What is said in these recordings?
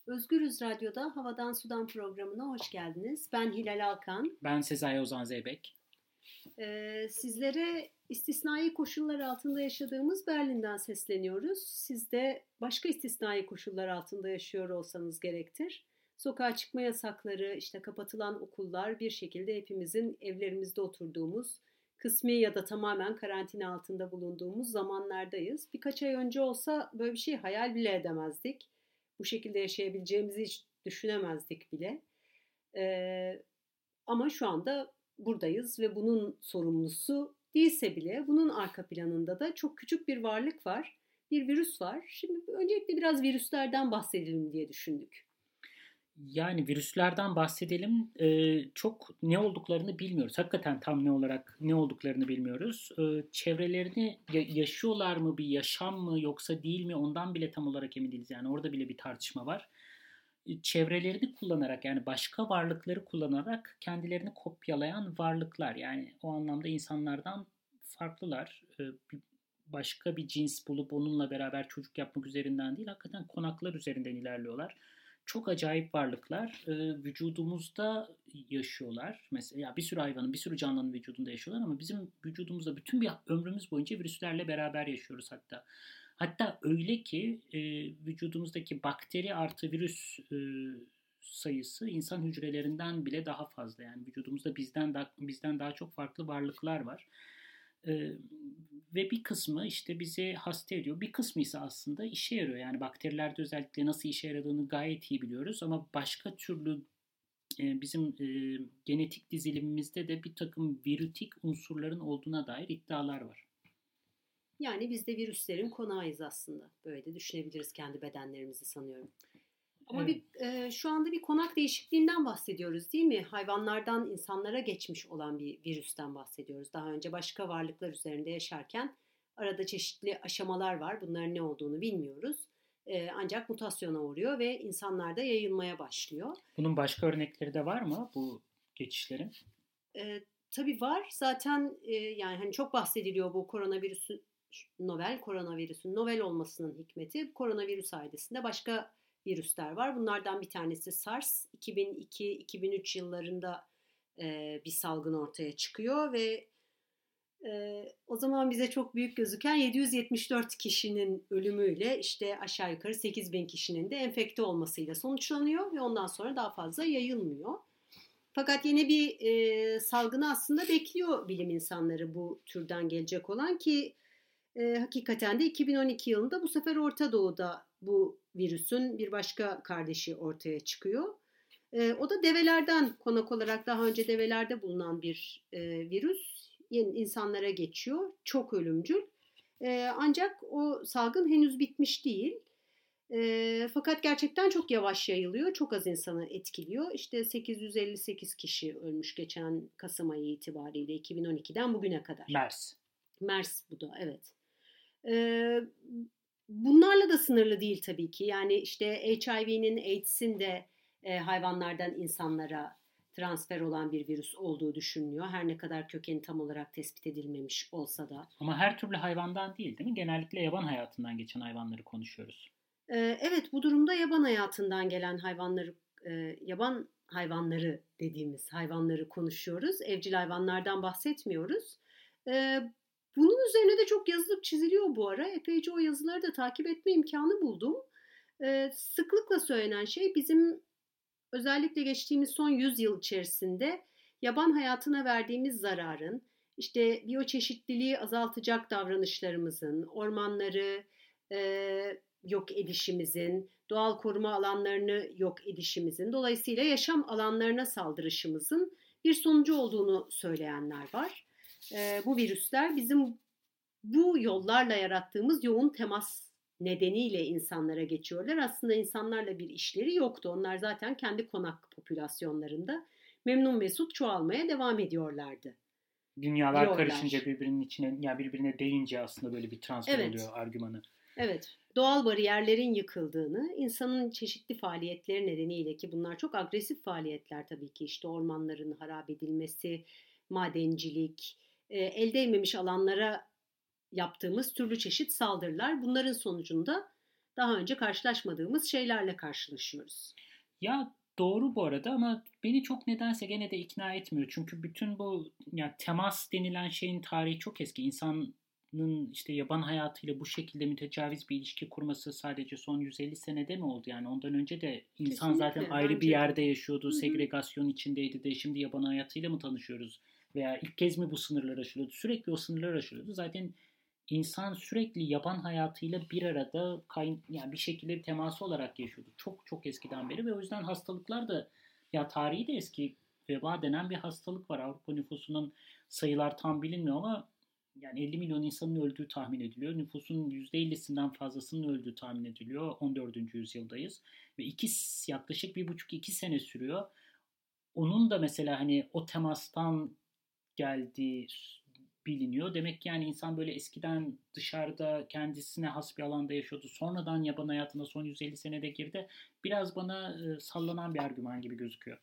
Özgürüz Radyo'da Havadan Sudan programına hoş geldiniz. Ben Hilal Alkan. Ben Sezai Ozan Zeybek. Sizlere istisnai koşullar altında yaşadığımız Berlin'den sesleniyoruz. Siz de başka istisnai koşullar altında yaşıyor olsanız gerektir. Sokağa çıkma yasakları, işte kapatılan okullar, bir şekilde hepimizin evlerimizde oturduğumuz, kısmi ya da tamamen karantina altında bulunduğumuz zamanlardayız. Birkaç ay önce olsa böyle bir şey hayal bile edemezdik. Bu şekilde yaşayabileceğimizi hiç düşünemezdik bile. Ee, Ama şu anda buradayız ve bunun sorumlusu değilse bile bunun arka planında da çok küçük bir varlık var. Bir virüs var. Şimdi öncelikle biraz virüslerden bahsedelim diye düşündük. Yani virüslerden bahsedelim. Çok ne olduklarını bilmiyoruz. Hakikaten tam ne olduklarını bilmiyoruz. Çevrelerini yaşıyorlar mı, bir yaşam mı yoksa değil mi ondan bile tam olarak emin değiliz. Yani orada bile bir tartışma var. Çevrelerini kullanarak yani başka varlıkları kullanarak kendilerini kopyalayan varlıklar. Yani o anlamda insanlardan farklılar. Başka bir cins bulup onunla beraber çocuk yapmak üzerinden değil, hakikaten konaklar üzerinden ilerliyorlar. Çok acayip varlıklar. Vücudumuzda yaşıyorlar. Mesela bir sürü hayvanın, bir sürü canlının vücudunda yaşıyorlar ama bizim vücudumuzda bütün bir ömrümüz boyunca virüslerle beraber yaşıyoruz hatta. Hatta öyle ki vücudumuzdaki bakteri artı virüs sayısı insan hücrelerinden bile daha fazla. Yani vücudumuzda bizden daha çok farklı varlıklar var. Ee, Ve bir kısmı işte bizi hasta ediyor. Bir kısmı ise aslında işe yarıyor. Yani bakterilerde özellikle nasıl işe yaradığını gayet iyi biliyoruz. Ama başka türlü bizim genetik dizilimimizde de bir takım virütik unsurların olduğuna dair iddialar var. Yani biz de virüslerin konağıyız aslında. Böyle de düşünebiliriz kendi bedenlerimizi sanıyorum. Ama Evet. şu anda bir konak değişikliğinden bahsediyoruz değil mi? Hayvanlardan insanlara geçmiş olan bir virüsten bahsediyoruz. Daha önce başka varlıklar üzerinde yaşarken arada çeşitli aşamalar var. Bunların ne olduğunu bilmiyoruz. Ancak mutasyona uğruyor ve insanlarda yayılmaya başlıyor. Bunun başka örnekleri de var mı bu geçişlerin? Tabii var. Zaten yani hani çok bahsediliyor bu koronavirüsün novel olmasının hikmeti. Koronavirüs ailesinde başka virüsler var. Bunlardan bir tanesi SARS. 2002-2003 yıllarında bir salgın ortaya çıkıyor ve o zaman bize çok büyük gözüken 774 kişinin ölümüyle işte aşağı yukarı 8.000 kişinin de enfekte olmasıyla sonuçlanıyor ve ondan sonra daha fazla yayılmıyor. Fakat yeni bir salgını aslında bekliyor bilim insanları bu türden gelecek olan ki hakikaten de 2012 yılında bu sefer Orta Doğu'da bu virüsün bir başka kardeşi ortaya çıkıyor. O da develerden konak olarak daha önce develerde bulunan bir virüs insanlara geçiyor. Çok ölümcül. Ancak o salgın henüz bitmiş değil. Fakat gerçekten çok yavaş yayılıyor. Çok az insanı etkiliyor. İşte 858 kişi ölmüş geçen Kasım ayı itibariyle 2012'den bugüne kadar. MERS. MERS bu da evet. Bunlarla da sınırlı değil tabii ki. Yani işte HIV'nin, AIDS'in de hayvanlardan insanlara transfer olan bir virüs olduğu düşünülüyor. Her ne kadar kökeni tam olarak tespit edilmemiş olsa da. Ama her türlü hayvandan değil, değil mi? Genellikle yaban hayatından geçen hayvanları konuşuyoruz. Evet, bu durumda yaban hayatından gelen yaban hayvanları dediğimiz hayvanları konuşuyoruz. Evcil hayvanlardan bahsetmiyoruz. Bunun üzerine de çok yazılıp çiziliyor bu ara. Epeyce o yazıları da takip etme imkanı buldum. Sıklıkla söylenen şey bizim özellikle geçtiğimiz son 100 yıl içerisinde yaban hayatına verdiğimiz zararın, işte biyoçeşitliliği azaltacak davranışlarımızın, ormanları yok edişimizin, doğal koruma alanlarını yok edişimizin, dolayısıyla yaşam alanlarına saldırışımızın bir sonucu olduğunu söyleyenler var. Bu virüsler bizim bu yollarla yarattığımız yoğun temas nedeniyle insanlara geçiyorlar. Aslında insanlarla bir işleri yoktu. Onlar zaten kendi konak popülasyonlarında memnun mesut çoğalmaya devam ediyorlardı. Dünyalar Diyorlar. karışınca birbirinin içine, ya birbirine değince aslında böyle bir transfer oluyor Evet. argümanı. Evet, doğal bariyerlerin yıkıldığını, insanın çeşitli faaliyetleri nedeniyle ki bunlar çok agresif faaliyetler tabii ki işte ormanların harap edilmesi, madencilik, el değmemiş alanlara yaptığımız türlü çeşit saldırılar bunların sonucunda daha önce karşılaşmadığımız şeylerle karşılaşıyoruz. Ya doğru bu arada ama beni çok nedense gene de ikna etmiyor. Çünkü bütün bu ya temas denilen şeyin tarihi çok eski. İnsanın işte yaban hayatıyla bu şekilde mütecaviz bir ilişki kurması sadece son 150 senede mi oldu? Yani ondan önce de insan zaten Kesinlikle ayrı bir bence de. yerde yaşıyordu, Hı hı. segregasyon içindeydi de şimdi yaban hayatıyla mı tanışıyoruz? Veya ilk kez mi bu sınırlar aşılıyordu? Sürekli o sınırlar aşılıyordu. Zaten insan sürekli yaban hayatıyla bir arada yani bir şekilde bir teması olarak yaşıyordu. Çok çok eskiden beri ve o yüzden hastalıklar da ya tarihi de eski. Veba denen bir hastalık var. Avrupa nüfusunun sayılar tam bilinmiyor ama yani 50 milyon insanın öldüğü tahmin ediliyor. Nüfusun %50'sinden fazlasının öldüğü tahmin ediliyor. 14. yüzyıldayız. Ve yaklaşık 1,5-2 sene sürüyor. Onun da mesela hani o temastan geldiği biliniyor. Demek ki yani insan böyle eskiden dışarıda kendisine has bir alanda yaşıyordu. Sonradan yaban hayatına son 150 senede girdi. Biraz bana sallanan bir argüman gibi gözüküyor.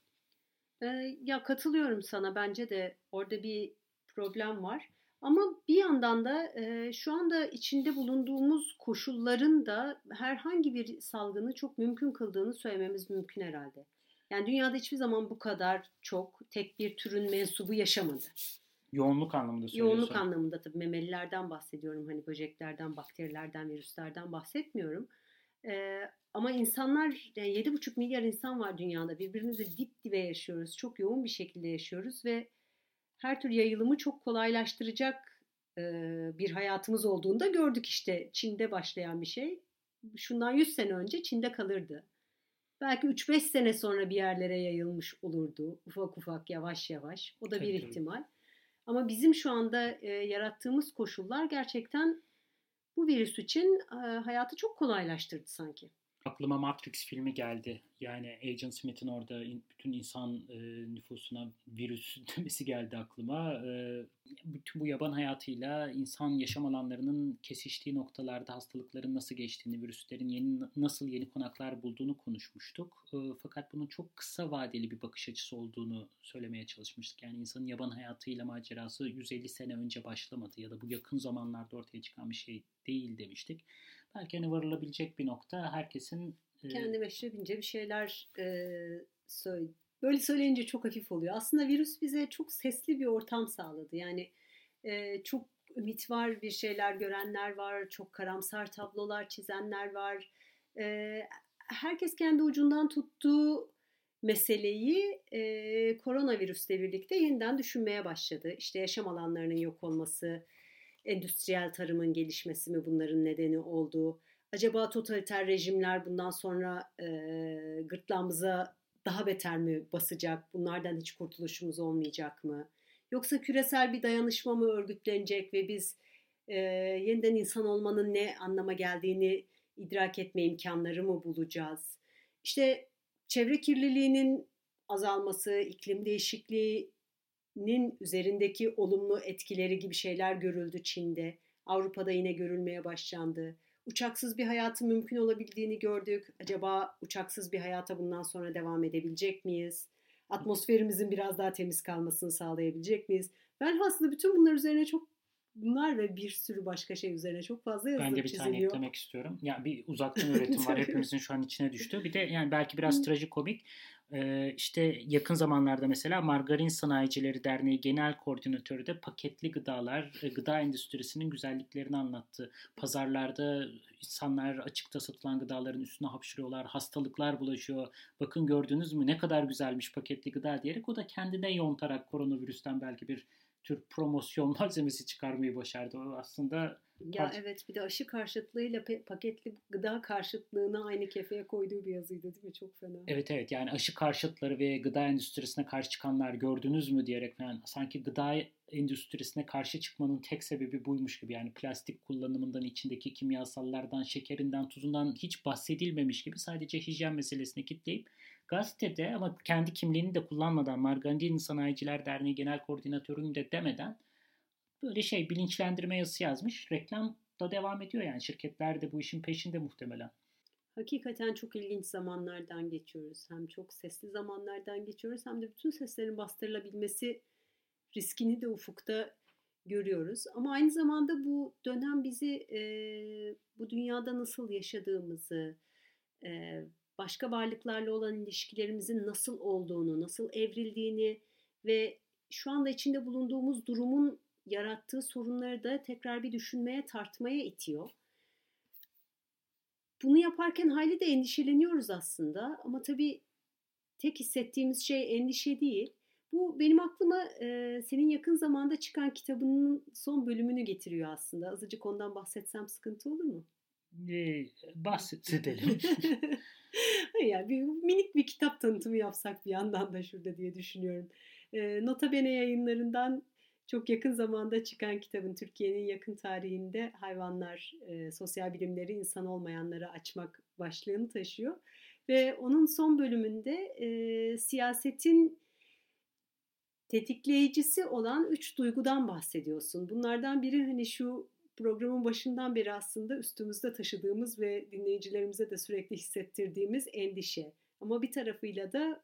Ya katılıyorum sana. Bence de orada bir problem var. Ama bir yandan da şu anda içinde bulunduğumuz koşulların da herhangi bir salgını çok mümkün kıldığını söylememiz mümkün herhalde. Yani dünyada hiçbir zaman bu kadar çok tek bir türün mensubu yaşamadı. Yoğunluk anlamında Yoğunluk söylüyorsun. anlamında tabii memelilerden bahsediyorum. Hani böceklerden, bakterilerden, virüslerden bahsetmiyorum. Ama insanlar, yani 7,5 milyar insan var dünyada. Birbirimizle dip dibe yaşıyoruz. Çok yoğun bir şekilde yaşıyoruz ve her tür yayılımı çok kolaylaştıracak bir hayatımız olduğunu da gördük işte. Çin'de başlayan bir şey. Şundan 100 sene önce Çin'de kalırdı. Belki 3-5 sene sonra bir yerlere yayılmış olurdu. Ufak ufak, yavaş yavaş. O da bir Tabii tabii. ihtimal. Ama bizim şu anda yarattığımız koşullar gerçekten bu virüs için hayatı çok kolaylaştırdı sanki. Aklıma Matrix filmi geldi. Yani Agent Smith'in orada bütün insan nüfusuna virüs demesi geldi aklıma. Bütün bu yaban hayatıyla insan yaşam alanlarının kesiştiği noktalarda hastalıkların nasıl geçtiğini, virüslerin nasıl yeni konaklar bulduğunu konuşmuştuk. Fakat bunun çok kısa vadeli bir bakış açısı olduğunu söylemeye çalışmıştık. Yani insanın yaban hayatıyla macerası 150 sene önce başlamadı ya da bu yakın zamanlarda ortaya çıkan bir şey değil demiştik. Belki hani varılabilecek bir nokta herkesin Kendi meşrebince bir şeyler söyle. Böyle söyleyince çok hafif oluyor. Aslında virüs bize çok sesli bir ortam sağladı. Yani çok ümit var, bir şeyler görenler var, çok karamsar tablolar çizenler var. Herkes kendi ucundan tuttuğu meseleyi koronavirüsle birlikte yeniden düşünmeye başladı. İşte yaşam alanlarının yok olması, endüstriyel tarımın gelişmesi mi bunların nedeni oldu? Acaba totaliter rejimler bundan sonra gırtlağımıza daha beter mi basacak? Bunlardan hiç kurtuluşumuz olmayacak mı? Yoksa küresel bir dayanışma mı örgütlenecek ve biz yeniden insan olmanın ne anlama geldiğini idrak etme imkanları mı bulacağız? İşte çevre kirliliğinin azalması, iklim değişikliğinin üzerindeki olumlu etkileri gibi şeyler görüldü Çin'de. Avrupa'da yine görülmeye başlandı. Uçaksız bir hayatın mümkün olabildiğini gördük. Acaba uçaksız bir hayata bundan sonra devam edebilecek miyiz? Atmosferimizin biraz daha temiz kalmasını sağlayabilecek miyiz? Velhasıl bütün bunlar üzerine bunlar ve bir sürü başka şey üzerine çok fazla ben de yazılıp bir tane çiziliyor. eklemek istiyorum. Ya bir uzaktan öğretim var. Hepimizin şu an içine düştü. Bir de yani belki biraz trajikomik. İşte yakın zamanlarda mesela Margarin Sanayicileri Derneği Genel Koordinatörü de paketli gıdalar, gıda endüstrisinin güzelliklerini anlattı. Pazarlarda insanlar açıkta satılan gıdaların üstüne hapşırıyorlar, hastalıklar bulaşıyor. Bakın gördünüz mü ne kadar güzelmiş paketli gıda diyerek o da kendine yontarak koronavirüsten belki bir tür promosyon malzemesi çıkarmayı başardı. O aslında Ya evet, bir de aşı karşıtlığıyla paketli gıda karşıtlığını aynı kefeye koyduğu bir yazıydı değil mi? Çok fena. evet evet yani aşı karşıtları ve gıda endüstrisine karşı çıkanlar gördünüz mü diyerek falan sanki gıda endüstrisine karşı çıkmanın tek sebebi buymuş gibi yani plastik kullanımından içindeki kimyasallardan şekerinden tuzundan hiç bahsedilmemiş gibi sadece hijyen meselesine kitleyip gazetede ama kendi kimliğini de kullanmadan Margarin Sanayiciler Derneği Genel Koordinatörü'nü de demeden böyle bilinçlendirme yazısı yazmış reklam da devam ediyor yani şirketler de bu işin peşinde muhtemelen. Hakikaten çok ilginç zamanlardan geçiyoruz. Hem çok sesli zamanlardan geçiyoruz hem de bütün seslerin bastırılabilmesi riskini de ufukta görüyoruz. Ama aynı zamanda bu dönem bizi bu dünyada nasıl yaşadığımızı, e, başka varlıklarla olan ilişkilerimizin nasıl olduğunu, nasıl evrildiğini ve şu anda içinde bulunduğumuz durumun yarattığı sorunları da tekrar bir düşünmeye, tartmaya itiyor. Bunu yaparken hayli de endişeleniyoruz aslında ama tabii tek hissettiğimiz şey endişe değil. Bu benim aklıma senin yakın zamanda çıkan kitabının son bölümünü getiriyor aslında. Azıcık ondan bahsetsem sıkıntı olur mu? Bahsedelim. Hayır yani minik bir kitap tanıtımı yapsak bir yandan da şurada diye düşünüyorum. Nota Bene yayınlarından çok yakın zamanda çıkan kitabın Türkiye'nin yakın tarihinde hayvanlar, sosyal bilimleri insan olmayanlara açmak başlığını taşıyor. Ve onun son bölümünde siyasetin tetikleyicisi olan 3 duygudan bahsediyorsun. Bunlardan biri hani şu programın başından beri aslında üstümüzde taşıdığımız ve dinleyicilerimize de sürekli hissettirdiğimiz endişe. Ama bir tarafıyla da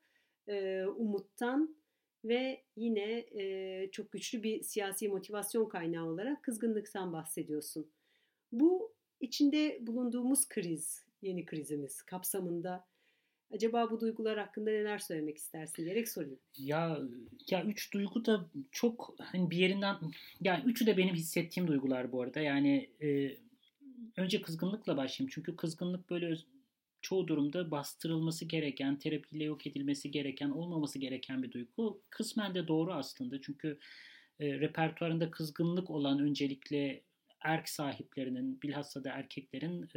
umuttan ve yine çok güçlü bir siyasi motivasyon kaynağı olarak kızgınlıktan bahsediyorsun. Bu içinde bulunduğumuz kriz, yeni krizimiz kapsamında acaba bu duygular hakkında neler söylemek istersin diyerek sorayım. Ya ya üç duygu da çok hani bir yerinden, yani üçü de benim hissettiğim duygular bu arada. Yani önce kızgınlıkla başlayayım. Çünkü kızgınlık böyle çoğu durumda bastırılması gereken, terapiyle yok edilmesi gereken, olmaması gereken bir duygu. Kısmen de doğru aslında. Çünkü repertuarında kızgınlık olan öncelikle erk sahiplerinin, bilhassa da erkeklerin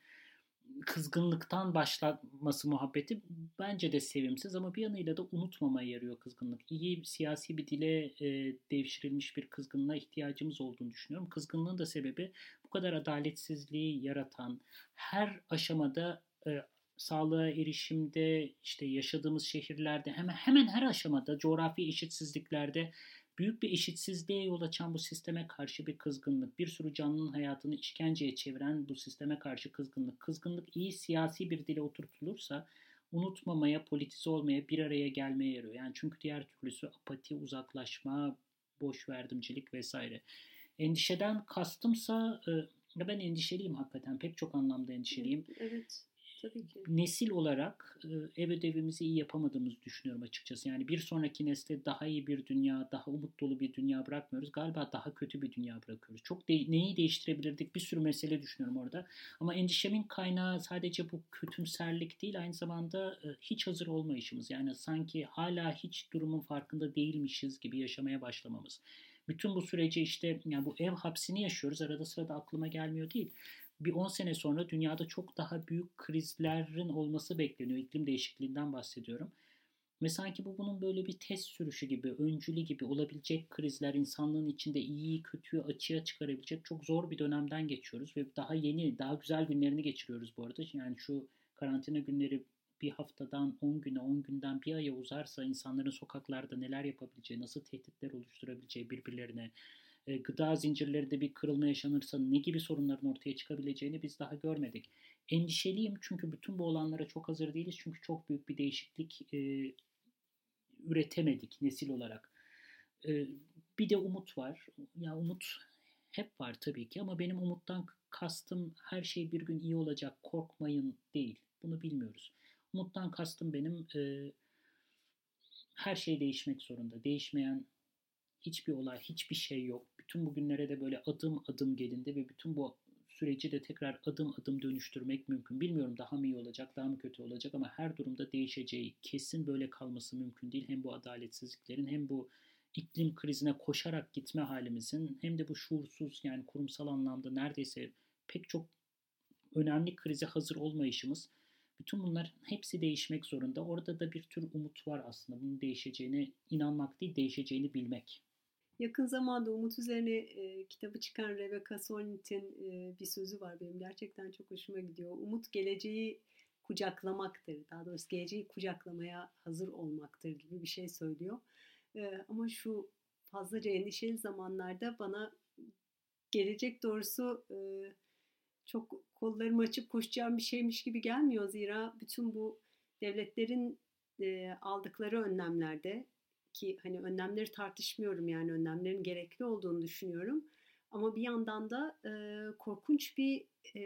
kızgınlıktan başlatması muhabbeti bence de sevimsiz, ama bir yanıyla da unutmamaya yarıyor kızgınlık. İyi siyasi bir dile devşirilmiş bir kızgınlığa ihtiyacımız olduğunu düşünüyorum. Kızgınlığın da sebebi bu kadar adaletsizliği yaratan, her aşamada sağlığa erişimde, işte yaşadığımız şehirlerde, hemen her aşamada coğrafi eşitsizliklerde büyük bir eşitsizliğe yol açan bu sisteme karşı bir kızgınlık, bir sürü canlının hayatını işkenceye çeviren bu sisteme karşı kızgınlık. Kızgınlık iyi siyasi bir dile oturtulursa unutmamaya, politize olmaya, bir araya gelmeye yarıyor. Yani çünkü diğer türlüsü apati, uzaklaşma, boş verdimcilik vesaire. Endişeden kastımsa ben endişeliyim hakikaten. Pek çok anlamda endişeliyim. Evet, tabii ki. Nesil olarak ev ödevimizi iyi yapamadığımızı düşünüyorum açıkçası. Yani bir sonraki nesle daha iyi bir dünya, daha umut dolu bir dünya bırakmıyoruz. Galiba daha kötü bir dünya bırakıyoruz. Neyi değiştirebilirdik? Bir sürü mesele düşünüyorum orada. Ama endişemin kaynağı sadece bu kötümserlik değil, aynı zamanda hiç hazır olmayışımız. Yani sanki hala hiç durumun farkında değilmişiz gibi yaşamaya başlamamız. Bütün bu süreci işte, yani bu ev hapsini yaşıyoruz. Arada sırada aklıma gelmiyor değil. Bir 10 sene sonra dünyada çok daha büyük krizlerin olması bekleniyor. İklim değişikliğinden bahsediyorum. Ve sanki bu bunun böyle bir test sürüşü gibi, öncülü gibi olabilecek krizler, insanlığın içinde iyiyi kötüyü açığa çıkarabilecek çok zor bir dönemden geçiyoruz. Ve daha yeni, daha güzel günlerini geçiriyoruz bu arada. Yani şu karantina günleri bir haftadan 10 güne, 10 günden bir aya uzarsa insanların sokaklarda neler yapabileceği, nasıl tehditler oluşturabileceği birbirlerine, gıda zincirlerinde bir kırılma yaşanırsa ne gibi sorunların ortaya çıkabileceğini biz daha görmedik. Endişeliyim çünkü bütün bu olanlara çok hazır değiliz. Çünkü çok büyük bir değişiklik üretemedik nesil olarak. E, Bir de umut var. Ya umut hep var tabii ki, ama benim umuttan kastım her şey bir gün iyi olacak, korkmayın değil. Bunu bilmiyoruz. Umuttan kastım benim her şey değişmek zorunda. Değişmeyen hiçbir olay, hiçbir şey yok. Bütün bugünlere de böyle adım adım gelindi ve bütün bu süreci de tekrar adım adım dönüştürmek mümkün. Bilmiyorum daha mı iyi olacak, daha mı kötü olacak, ama her durumda değişeceği, kesin böyle kalması mümkün değil. Hem bu adaletsizliklerin, hem bu iklim krizine koşarak gitme halimizin, hem de bu şuursuz, yani kurumsal anlamda neredeyse pek çok önemli krize hazır olmayışımız, bütün bunlar hepsi değişmek zorunda. Orada da bir tür umut var aslında. Bunun değişeceğine inanmak değil, değişeceğini bilmek. Yakın zamanda Umut üzerine kitabı çıkan Rebecca Solnit'in bir sözü var benim gerçekten çok hoşuma gidiyor. Umut geleceği kucaklamaktır. Daha doğrusu geleceği kucaklamaya hazır olmaktır gibi bir şey söylüyor. Ama şu fazlaca endişeli zamanlarda bana gelecek doğrusu çok kollarımı açıp koşacağım bir şeymiş gibi gelmiyor. Zira bütün bu devletlerin aldıkları önlemlerde ki hani önlemleri tartışmıyorum, yani önlemlerin gerekli olduğunu düşünüyorum. Ama bir yandan da korkunç bir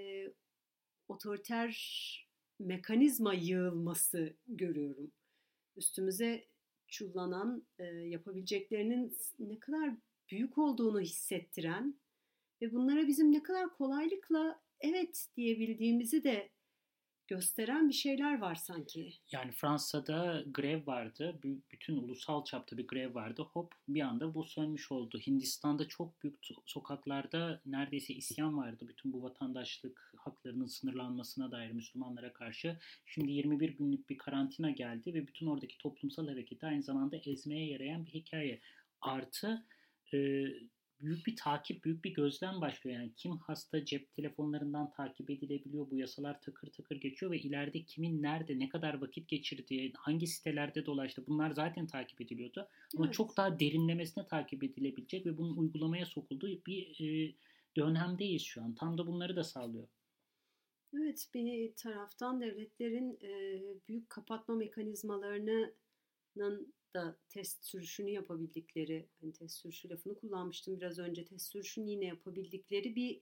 otoriter mekanizma yığılması görüyorum. Üstümüze çullanan, yapabileceklerinin ne kadar büyük olduğunu hissettiren ve bunlara bizim ne kadar kolaylıkla evet diyebildiğimizi de gösteren bir şeyler var sanki. Yani Fransa'da grev vardı. Bütün ulusal çapta bir grev vardı. Hop bir anda bu sönmüş oldu. Hindistan'da çok büyük sokaklarda neredeyse isyan vardı. Bütün bu vatandaşlık haklarının sınırlanmasına dair Müslümanlara karşı. Şimdi 21 günlük bir karantina geldi ve bütün oradaki toplumsal hareketi aynı zamanda ezmeye yarayan bir hikaye. Artı e, büyük bir takip, büyük bir gözlem başlıyor. Yani kim hasta cep telefonlarından takip edilebiliyor. Bu yasalar takır takır geçiyor ve ileride kimin nerede, ne kadar vakit geçirdiği, hangi sitelerde dolaştı bunlar zaten takip ediliyordu. Ama Evet. çok daha derinlemesine takip edilebilecek ve bunun uygulamaya sokulduğu bir dönemdeyiz şu an. Tam da bunları da sağlıyor. Evet, bir taraftan devletlerin büyük kapatma mekanizmalarının da test sürüşünü yapabildikleri, hani test sürüşü lafını kullanmıştım biraz önce, test sürüşünü yine yapabildikleri bir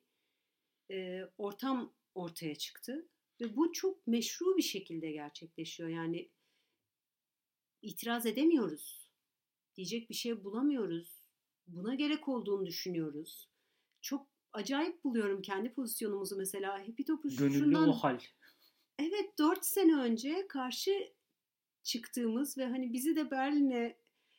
ortam ortaya çıktı. Ve bu çok meşru bir şekilde gerçekleşiyor. Yani itiraz edemiyoruz. Diyecek bir şey bulamıyoruz. Buna gerek olduğunu düşünüyoruz. Çok acayip buluyorum kendi pozisyonumuzu mesela. Happy Gönüllü o Topuşu'ndan hal. evet 4 sene önce karşı çıktığımız ve hani bizi de Berlin'e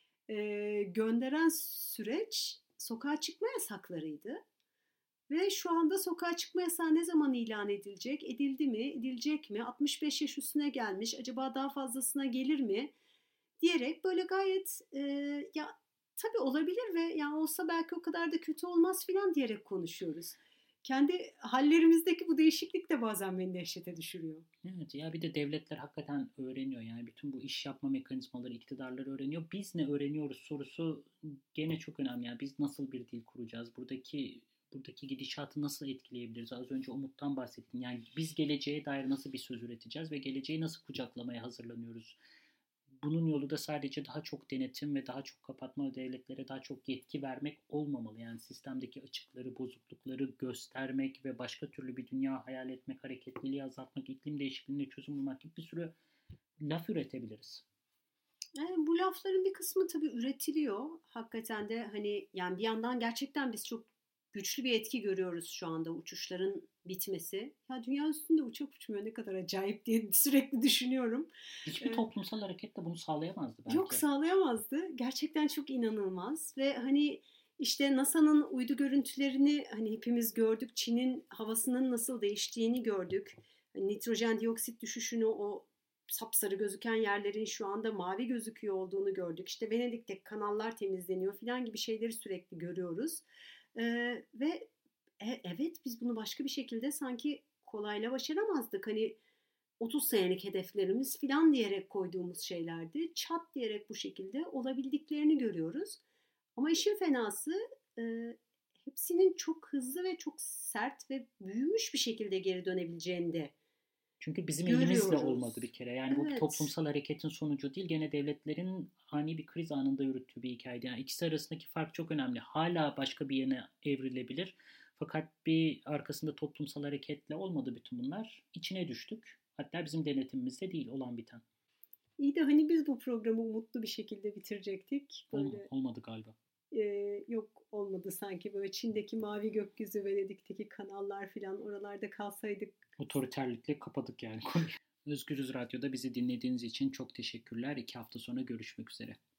gönderen süreç sokağa çıkma yasaklarıydı. Ve şu anda sokağa çıkma yasağı ne zaman ilan edilecek? Edildi mi? Edilecek mi? 65 yaş üstüne gelmiş. Acaba daha fazlasına gelir mi? Diyerek böyle gayet ya tabii olabilir ve yani olsa belki o kadar da kötü olmaz filan diyerek konuşuyoruz. Kendi hallerimizdeki bu değişiklik de bazen beni dehşete düşürüyor. Evet ya bir de devletler hakikaten öğreniyor yani bütün bu iş yapma mekanizmaları iktidarlar öğreniyor. Biz ne öğreniyoruz sorusu gene çok önemli. Yani biz nasıl bir dil kuracağız? Buradaki gidişatı nasıl etkileyebiliriz? Az önce Umut'tan bahsettin. Yani biz geleceğe dair nasıl bir söz üreteceğiz ve geleceği nasıl kucaklamaya hazırlanıyoruz? Bunun yolu da sadece daha çok denetim ve daha çok kapatma, devletlere daha çok yetki vermek olmamalı. Yani sistemdeki açıkları, bozuklukları göstermek ve başka türlü bir dünya hayal etmek, hareketliliği azaltmak, iklim değişikliğine çözüm bulmak gibi bir sürü laf üretebiliriz. Yani bu lafların bir kısmı tabii üretiliyor. Hakikaten de hani yani bir yandan gerçekten biz çok güçlü bir etki görüyoruz şu anda uçuşların bitmesi. Ya dünya üstünde uçak uçmuyor ne kadar acayip diye sürekli düşünüyorum. Hiçbir Ee, toplumsal hareket de bunu sağlayamazdı Yok, belki. sağlayamazdı. Gerçekten çok inanılmaz ve hani işte NASA'nın uydu görüntülerini hani hepimiz gördük. Çin'in havasının nasıl değiştiğini gördük. Hani nitrojen dioksit düşüşünü, o sapsarı gözüken yerlerin şu anda mavi gözüküyor olduğunu gördük. İşte Venedik'te kanallar temizleniyor filan gibi şeyleri sürekli görüyoruz. Ve evet biz bunu başka bir şekilde sanki kolayla başaramazdık. Hani 30 senelik hedeflerimiz filan diyerek koyduğumuz şeylerdi. Çat diyerek bu şekilde olabildiklerini görüyoruz. Ama işin fenası e, hepsinin çok hızlı ve çok sert ve büyümüş bir şekilde geri dönebileceğini de Çünkü bizim elimizle olmadı görüyoruz. bir kere. Yani bu bir Evet. toplumsal hareketin sonucu değil. Gene devletlerin ani bir kriz anında yürüttüğü bir hikayeydi. Yani ikisi arasındaki fark çok önemli. Hala başka bir yöne evrilebilir. Fakat bir arkasında toplumsal hareketle olmadı bütün bunlar. İçine düştük. Hatta bizim denetimimizde değil olan biten. İyi de hani biz bu programı umutlu bir şekilde bitirecektik. Böyle Olmadı galiba. yok olmadı sanki, böyle Çin'deki mavi gökyüzü, Venedik'teki kanallar filan oralarda kalsaydık. Otoriterlikle kapadık yani konuyu. Özgürüz Radyo'da bizi dinlediğiniz için çok teşekkürler. 2 hafta sonra görüşmek üzere.